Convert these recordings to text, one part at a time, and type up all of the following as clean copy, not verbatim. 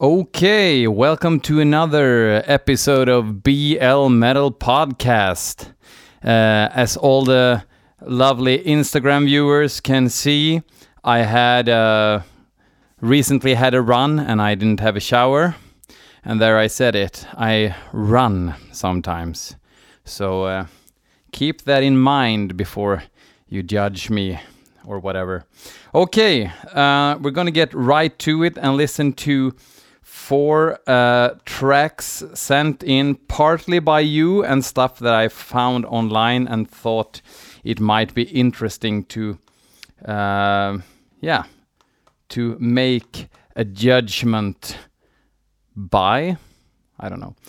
Okay, welcome to another episode of BL Metal Podcast. As all the lovely Instagram viewers can see, I had recently had a run and I didn't have a shower. And there I said it, I run sometimes. So keep that in mind before you judge me or whatever. Okay, we're gonna get right to it and listen to 4 tracks sent in partly by you and stuff that I found online and thought it might be interesting to make a judgment by. I don't know.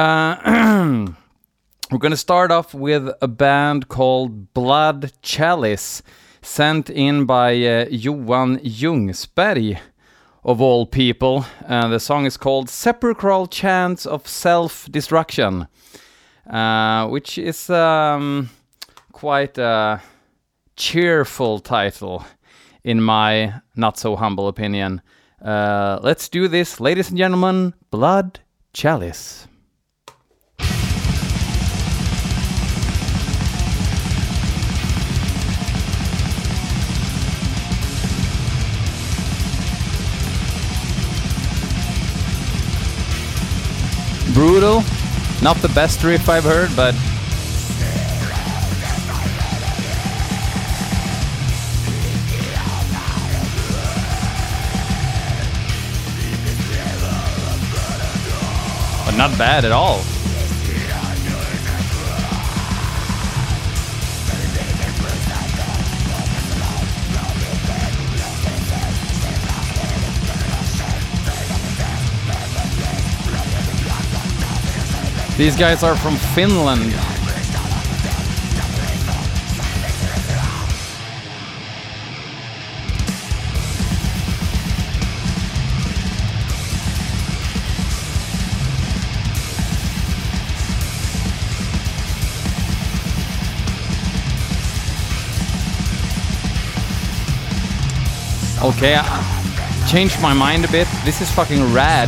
We're gonna start off with a band called Blood Chalice, sent in by Johan Ljungsberg, of all people. The song is called Sepulchral Chants of Self-Destruction, which is quite a cheerful title, in my not-so-humble opinion. Let's do this, ladies and gentlemen. Blood Chalice. Brutal, not the best riff I've heard, but not bad at all. These guys are from Finland. Okay, I changed my mind a bit. This is fucking rad.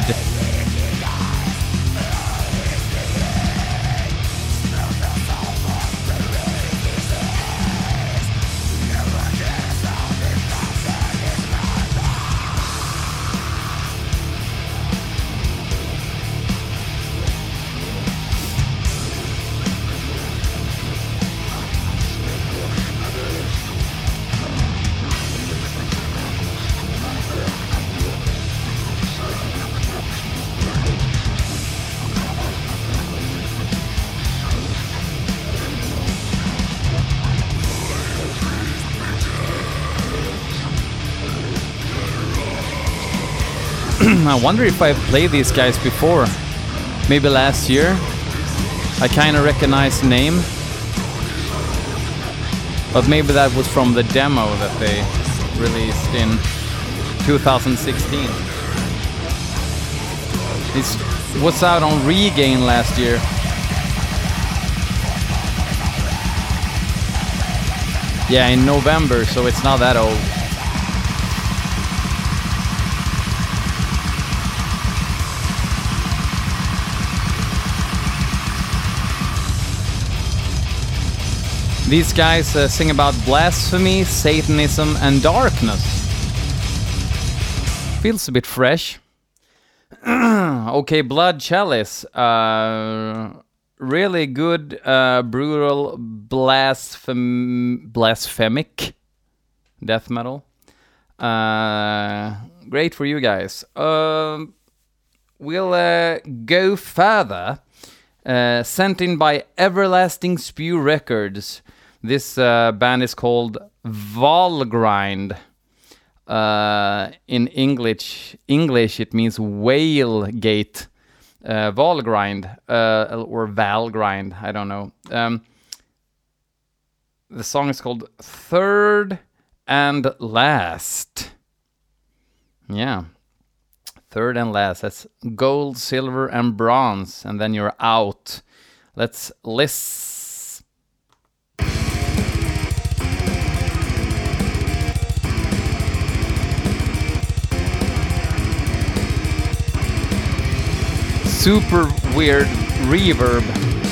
I wonder if I've played these guys before. Maybe last year. I kind of recognize the name. But maybe that was from the demo that they released in 2016. This was out on Regain last year. Yeah, in November, so it's not that old. These guys sing about blasphemy, Satanism, and darkness. Feels a bit fresh. Okay, Blood Chalice. Really good, brutal, blasphemic death metal. Great for you guys. We'll go further. Sent in by Everlasting Spew Records. This band is called Valgrind. In English it means whale gate. Valgrind, or Valgrind, I don't know. The song is called Third and Last. Yeah. Third and last. That's gold, silver, and bronze. And then you're out. Let's listen. super weird reverb.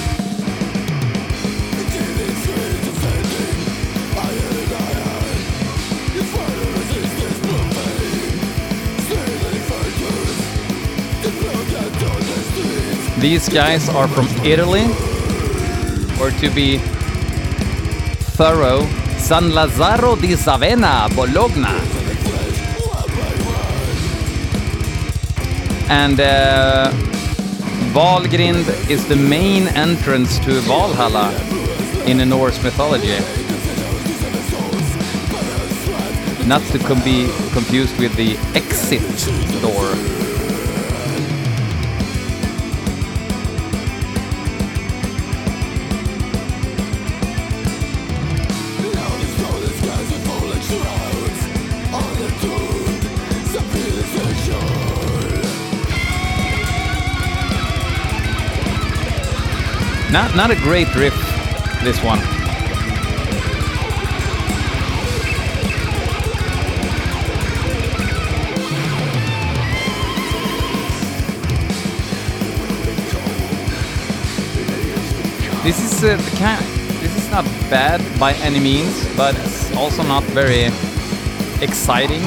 These guys are from Italy, or to be thorough, San Lazzaro di Savena, Bologna. And Valgrind is the main entrance to Valhalla in the Norse mythology. Not to be confused with the exit door. Not a great riff, this one. This is not bad by any means, but it's also not very exciting.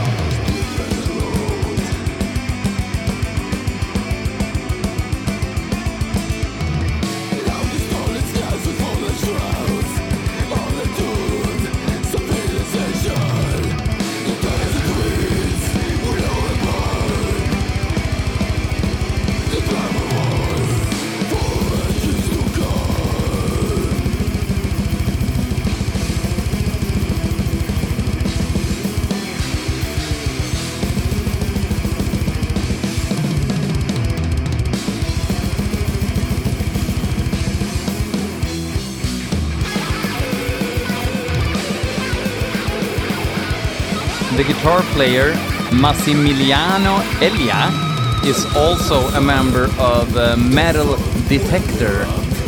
The guitar player, Massimiliano Elia, is also a member of Metal Detector.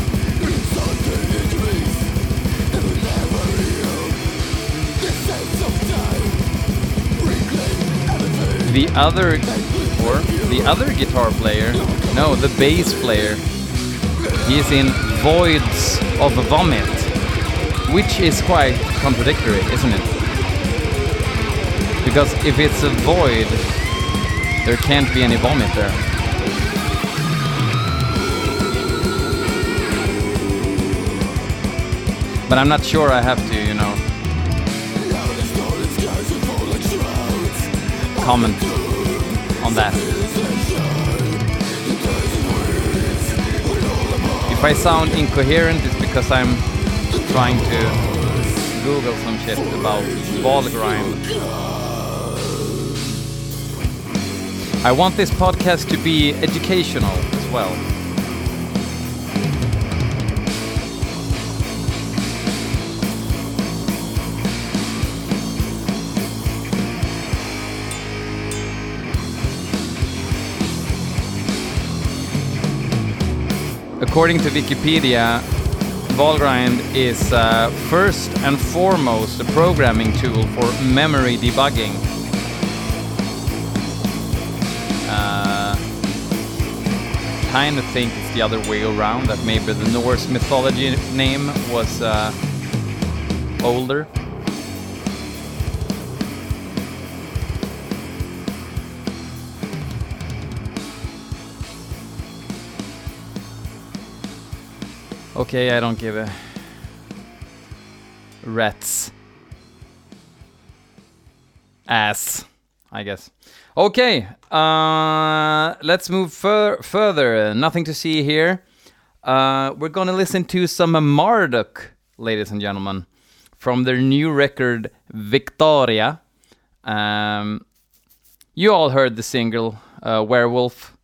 The other guitar player, no, the bass player, he's in Voids of Vomit, which is quite contradictory, isn't it? Because if it's a void, there can't be any vomit there. But I'm not sure I have to, comment on that. If I sound incoherent, it's because I'm trying to Google some shit about Valgrind. I want this podcast to be educational as well. According to Wikipedia, Valgrind is first and foremost a programming tool for memory debugging. Kind of think it's the other way around, that maybe the Norse mythology name was older. Okay, I don't give a rat's ass, I guess. Okay, let's move further. Nothing to see here. We're gonna listen to some Marduk, ladies and gentlemen, from their new record, Victoria. You all heard the single, Werewolf.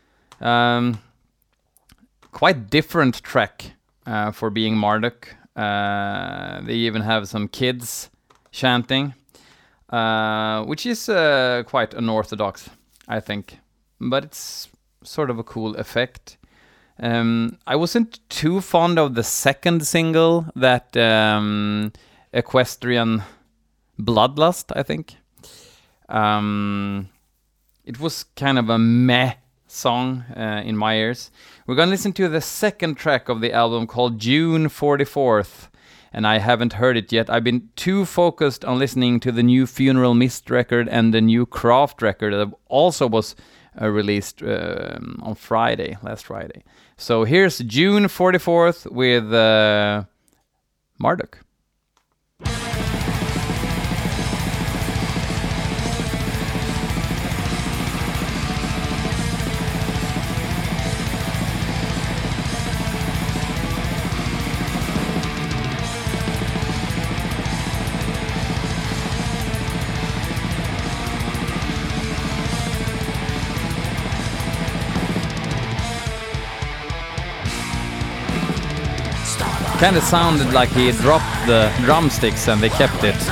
Quite different track for being Marduk. They even have some kids chanting. Which is quite unorthodox, I think, but it's sort of a cool effect. I wasn't too fond of the second single, that Equestrian Bloodlust, I think. It was kind of a meh song in my ears. We're gonna listen to the second track of the album called June 44th, and I haven't heard it yet. I've been too focused on listening to the new Funeral Mist record and the new Craft record that also was released on last Friday. So here's June 44th with Marduk. Kind of sounded like he dropped the drumsticks and they kept it.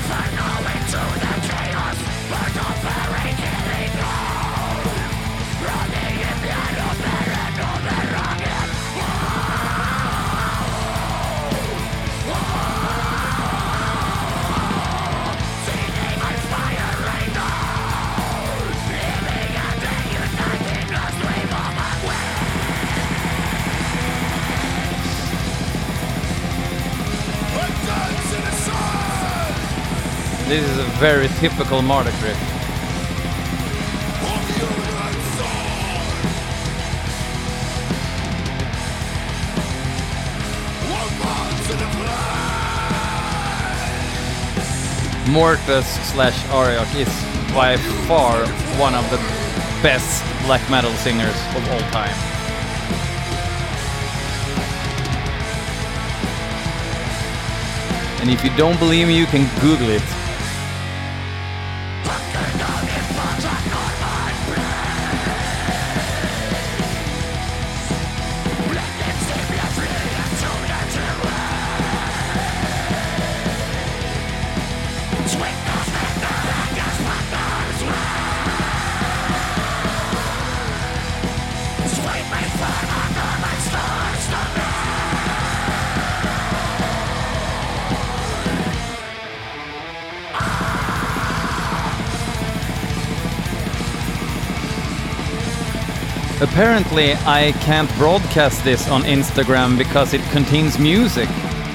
This is a very typical Marduk riff. Mortus / Ariok is by far one of the best black metal singers of all time. And if you don't believe me, you can Google it. Apparently, I can't broadcast this on Instagram because it contains music.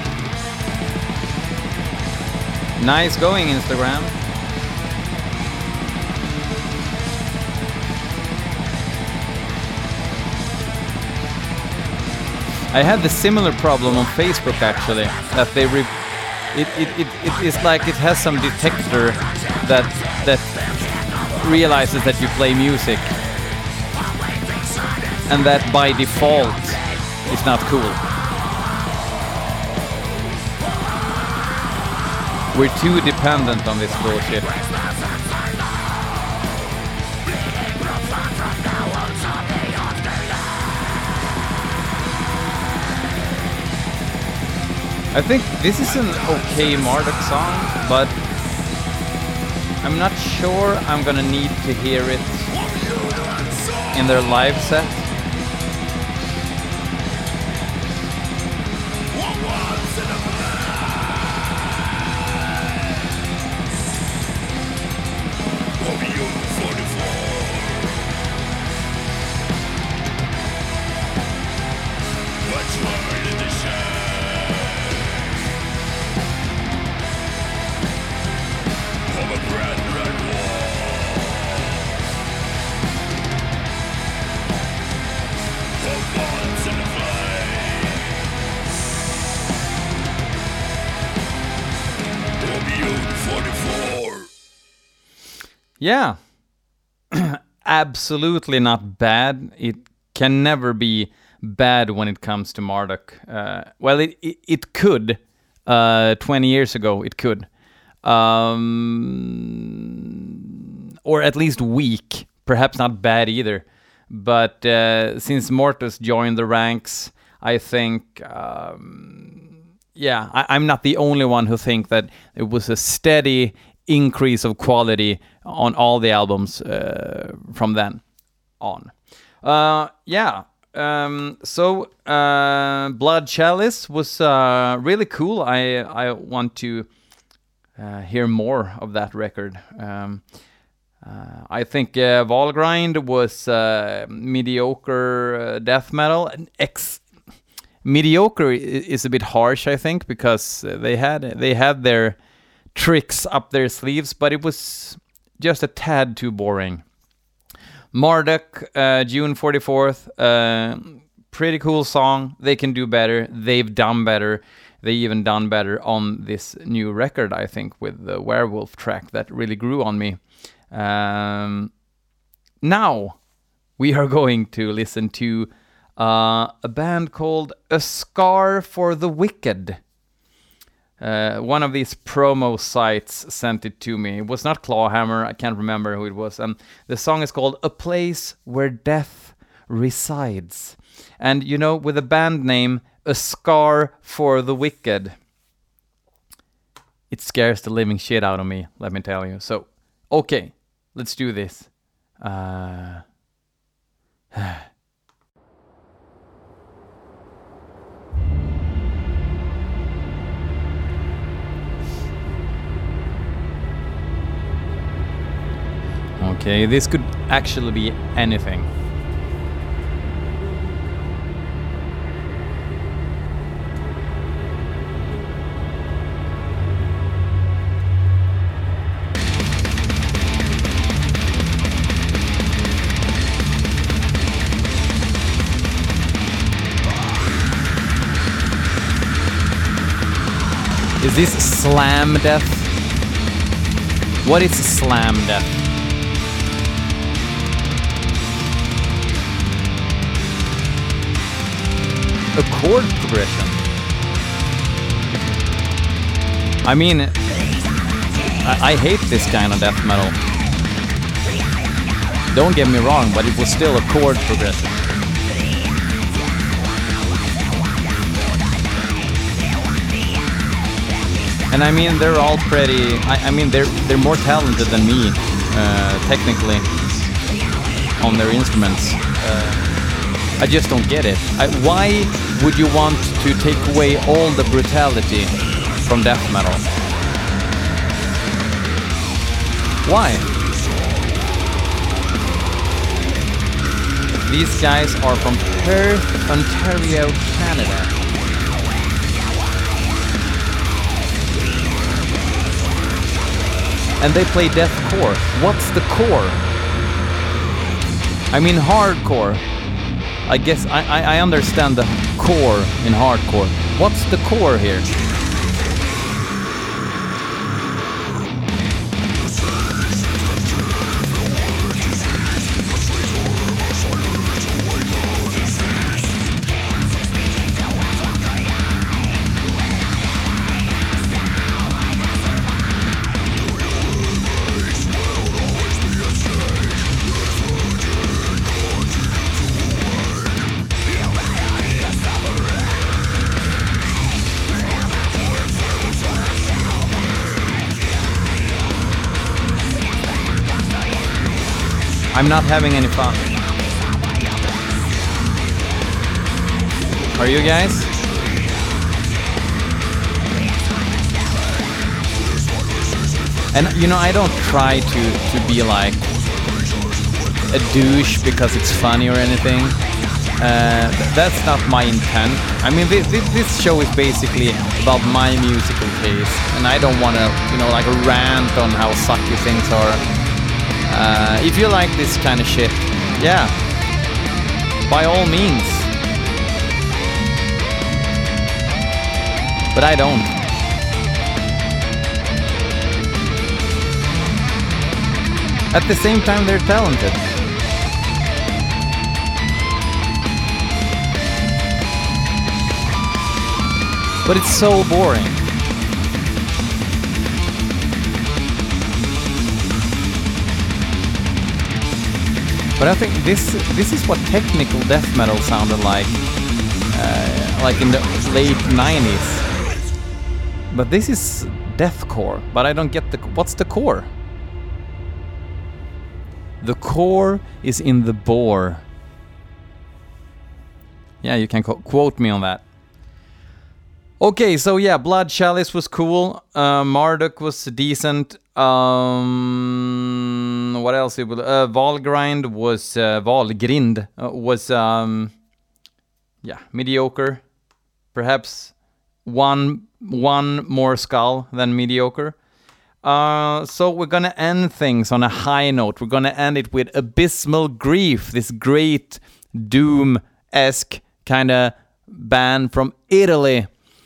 Nice going, Instagram. I had the similar problem on Facebook actually, that they it is like it has some detector that realizes that you play music. And that by default is not cool. We're too dependent on this bullshit. I think this is an okay Marduk song, but I'm not sure I'm gonna need to hear it in their live set. Yeah, absolutely not bad. It can never be bad when it comes to Marduk. Well, it could. 20 years ago, it could. Or at least weak. Perhaps not bad either. But since Mortus joined the ranks, I think... I'm not the only one who think that it was a steady increase of quality on all the albums from then on. So Blood Chalice was really cool. I want to hear more of that record. I think Valgrind was mediocre death metal. Mediocre is a bit harsh, I think, because they had their tricks up their sleeves, but it was just a tad too boring. Marduk, June 44th, pretty cool song. They can do better. They've done better. They even done better on this new record, I think, with the Werewolf track that really grew on me. Now we are going to listen to a band called A Scar for the Wicked. One of these promo sites sent it to me. It was not Clawhammer, I can't remember who it was. The song is called A Place Where Death Resides. And you know, with a band name, A Scar for the Wicked, it scares the living shit out of me, let me tell you. So, okay, let's do this. Okay, this could actually be anything. Is this slam death? What is slam death? A chord progression. I mean, I hate this kind of death metal. Don't get me wrong, but it was still a chord progression. And I mean, they're all pretty. I mean, they're more talented than me, technically, on their instruments. I just don't get it. Why would you want to take away all the brutality from death metal? Why? These guys are from Perth, Ontario, Canada. And they play deathcore. What's the core? I mean hardcore. I guess I understand the core in hardcore. What's the core here? I'm not having any fun. Are you guys? And you know, I don't try to be like a douche because it's funny or anything. That's not my intent. I mean, this show is basically about my musical taste, and I don't want to, you know, like rant on how sucky things are. If you like this kind of shit, yeah, by all means. But I don't. At the same time, they're talented. But it's so boring. But I think this is what technical death metal sounded like in the late 90s. But this is deathcore. But I don't get what's the core? The core is in the bore. Yeah, you can quote me on that. Okay, so yeah, Blood Chalice was cool. Marduk was decent. What what else? Valgrind was Valgrind was mediocre. Perhaps one more skull than mediocre. So we're gonna end things on a high note. We're gonna end it with Abysmal Grief, this great Doom-esque kind of band from Italy.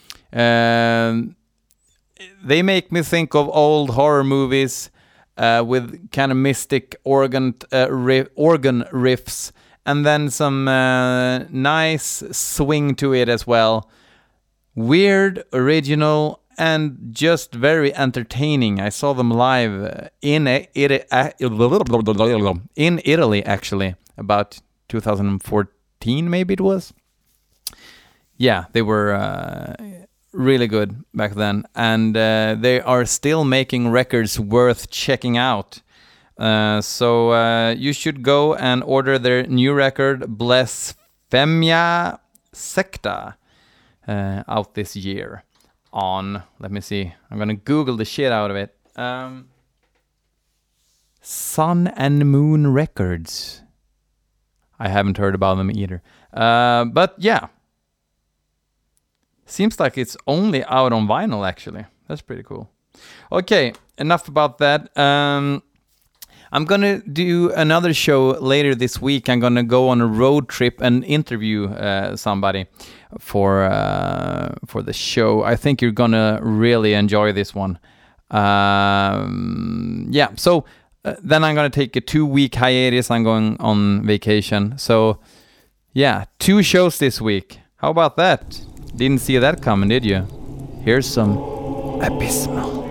They make me think of old horror movies with kind of mystic organ riffs, and then some nice swing to it as well. Weird, original, and just very entertaining. I saw them live in Italy, actually, about 2014, maybe it was. Yeah, they were really good back then, and they are still making records worth checking out. So you should go and order their new record, Blasphemia Secta, out this year on, let me see, I'm gonna Google the shit out of it. Sun and Moon Records. I haven't heard about them either. But yeah. Seems like it's only out on vinyl, actually. That's pretty cool. Okay, enough about that. I'm gonna do another show later this week. I'm gonna go on a road trip and interview somebody for the show. I think you're gonna really enjoy this one. Yeah, so then I'm gonna take a 2-week hiatus. I'm going on vacation. So yeah, 2 shows this week. How about that? Didn't see that coming, did you? Here's some Abysmal.